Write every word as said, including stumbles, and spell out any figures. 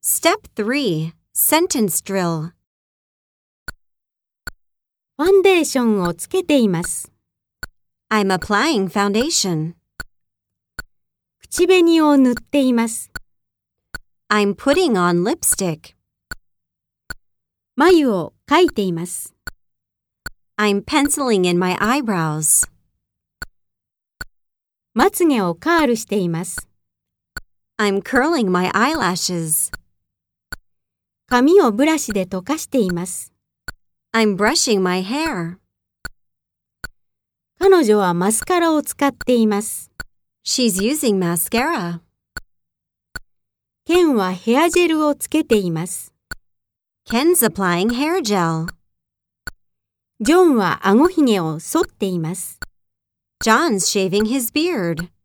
Step three. Sentence drill. ファンデーションをつけています。 I'm applying foundation. 口紅を塗っています。 I'm putting on lipstick. 眉を描いています。 I'm penciling in my eyebrows. まつげをカールしています。 I'm curling my eyelashes. 髪をブラシで溶かしています。 I'm brushing my hair. 彼女はマスカラを使っています。 She's using mascara. ケンはヘアジェルをつけています。 Ken's applying hair gel. ジョンは顎ひげを剃っています。 John's shaving his beard.